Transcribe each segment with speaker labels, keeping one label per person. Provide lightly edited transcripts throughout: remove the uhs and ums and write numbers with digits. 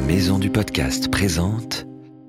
Speaker 1: Maison du Podcast présente.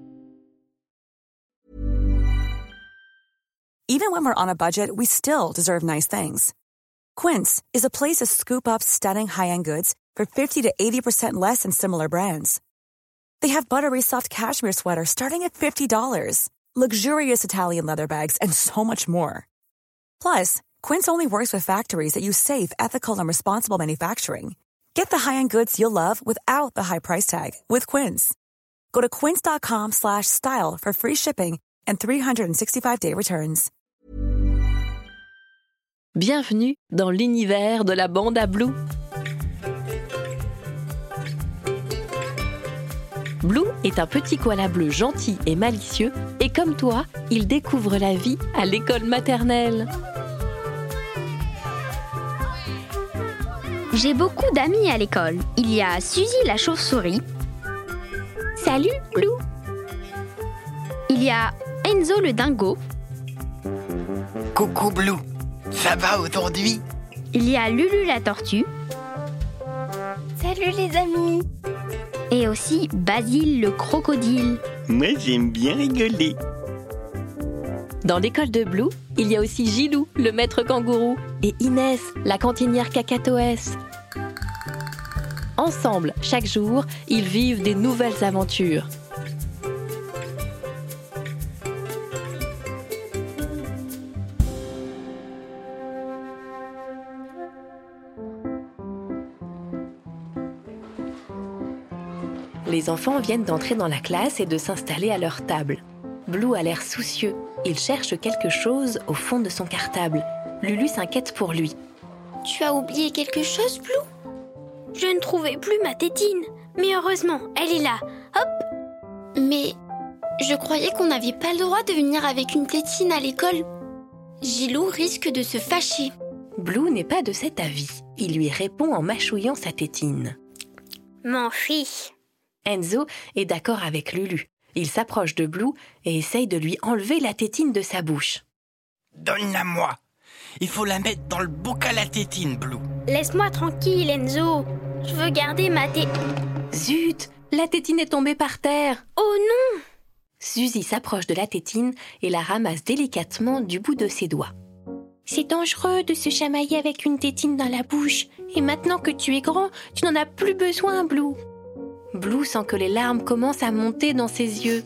Speaker 2: Even when we're on a budget, we still deserve nice things. Quince is a place to scoop up stunning high-end goods for 50 to 80% less than similar brands. They have buttery soft cashmere sweaters starting at $50, luxurious Italian leather bags, and so much more. Plus, Quince only works with factories that use safe, ethical, and responsible manufacturing. Get the high-end goods you'll love without the high price tag with Quince. Go to quince.com/style for free shipping and 365-day returns.
Speaker 3: Bienvenue dans l'univers de la bande à Blue. Blue est un petit koala bleu gentil et malicieux et comme toi, il découvre la vie à l'école maternelle.
Speaker 4: J'ai beaucoup d'amis à l'école. Il y a Suzy la chauve-souris. Salut, Blue. Il y a Enzo le dingo.
Speaker 5: Coucou Blue, ça va aujourd'hui?
Speaker 4: Il y a Lulu la tortue.
Speaker 6: Salut les amis.
Speaker 4: Et aussi Basile le crocodile.
Speaker 5: Moi j'aime bien rigoler.
Speaker 3: Dans l'école de Blue, il y a aussi Gilou, le maître kangourou, et Inès, la cantinière cacatoès. Ensemble, chaque jour, ils vivent des nouvelles aventures. Les enfants viennent d'entrer dans la classe et de s'installer à leur table. Blue a l'air soucieux. Il cherche quelque chose au fond de son cartable. Lulu s'inquiète pour lui.
Speaker 6: Tu as oublié quelque chose, Blue? Je ne trouvais plus ma tétine. Mais heureusement, elle est là. Hop! Mais je croyais qu'on n'avait pas le droit de venir avec une tétine à l'école. Gilou risque de se fâcher.
Speaker 3: Blue n'est pas de cet avis. Il lui répond en mâchouillant sa tétine.
Speaker 6: M'en fiche.
Speaker 3: Enzo est d'accord avec Lulu. Il s'approche de Blue et essaye de lui enlever la tétine de sa bouche.
Speaker 5: Donne-la-moi. Il faut la mettre dans le bocal à tétine, Blue.
Speaker 6: Laisse-moi tranquille, Enzo. Je veux garder ma
Speaker 3: Zut, la tétine est tombée par terre.
Speaker 6: Oh non!
Speaker 3: Suzy s'approche de la tétine et la ramasse délicatement du bout de ses doigts.
Speaker 7: C'est dangereux de se chamailler avec une tétine dans la bouche. Et maintenant que tu es grand, tu n'en as plus besoin, Blue.
Speaker 3: Blue sent que les larmes commencent à monter dans ses yeux.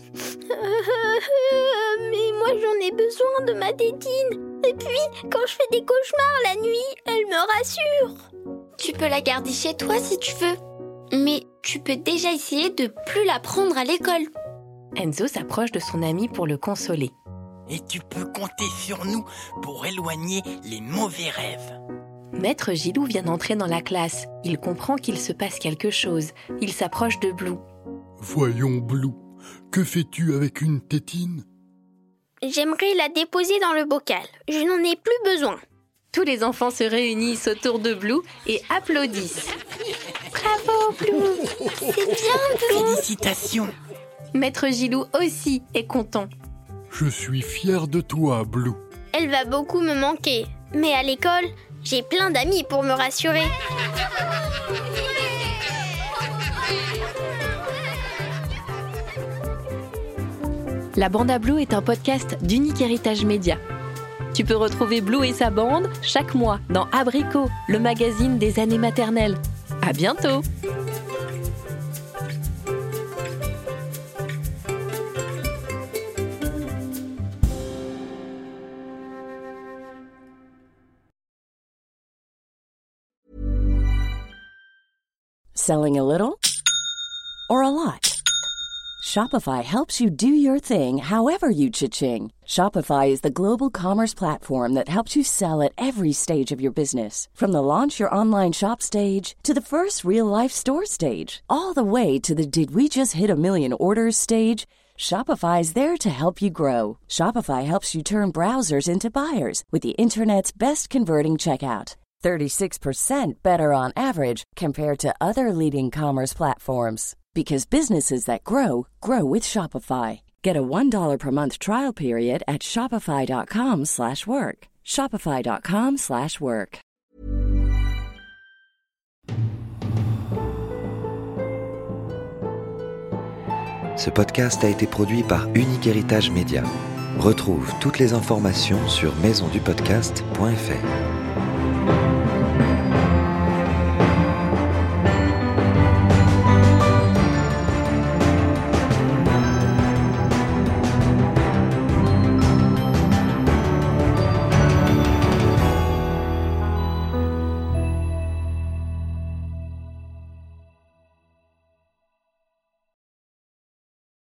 Speaker 6: Mais moi j'en ai besoin de ma tétine. Et puis, quand je fais des cauchemars la nuit, elle me rassure. Tu peux la garder chez toi si tu veux. Mais tu peux déjà essayer de plus la prendre à l'école.
Speaker 3: Enzo s'approche de son ami pour le consoler.
Speaker 5: Et tu peux compter sur nous pour éloigner les mauvais rêves.
Speaker 3: Maître Gilou vient d'entrer dans la classe. Il comprend qu'il se passe quelque chose. Il s'approche de Blue.
Speaker 8: Voyons, Blue, que fais-tu avec une tétine?
Speaker 6: J'aimerais la déposer dans le bocal. Je n'en ai plus besoin.
Speaker 3: Tous les enfants se réunissent autour de Blue et applaudissent.
Speaker 6: Bravo, Blue. C'est bien, Blue.
Speaker 5: Félicitations.
Speaker 3: Maître Gilou aussi est content.
Speaker 8: Je suis fier de toi, Blue.
Speaker 6: Elle va beaucoup me manquer. Mais à l'école, j'ai plein d'amis pour me rassurer.
Speaker 3: La bande à Blue est un podcast d'Unique Héritage Média. Tu peux retrouver Blue et sa bande chaque mois dans Abricot, le magazine des années maternelles. À bientôt!
Speaker 9: Selling a little or a lot? Shopify helps you do your thing however you cha-ching. Shopify is the global commerce platform that helps you sell at every stage of your business. From the launch your online shop stage to the first real-life store stage, all the way to the did we just hit a million orders stage. Shopify is there to help you grow. Shopify helps you turn browsers into buyers with the internet's best converting checkout. 36% better on average compared to other leading commerce platforms. Because businesses that grow, grow with Shopify. Get a $1 per month trial period at shopify.com/work. Shopify.com/work.
Speaker 1: Ce podcast a été produit par Unique Héritage Média. Retrouve toutes les informations sur maisondupodcast.fr.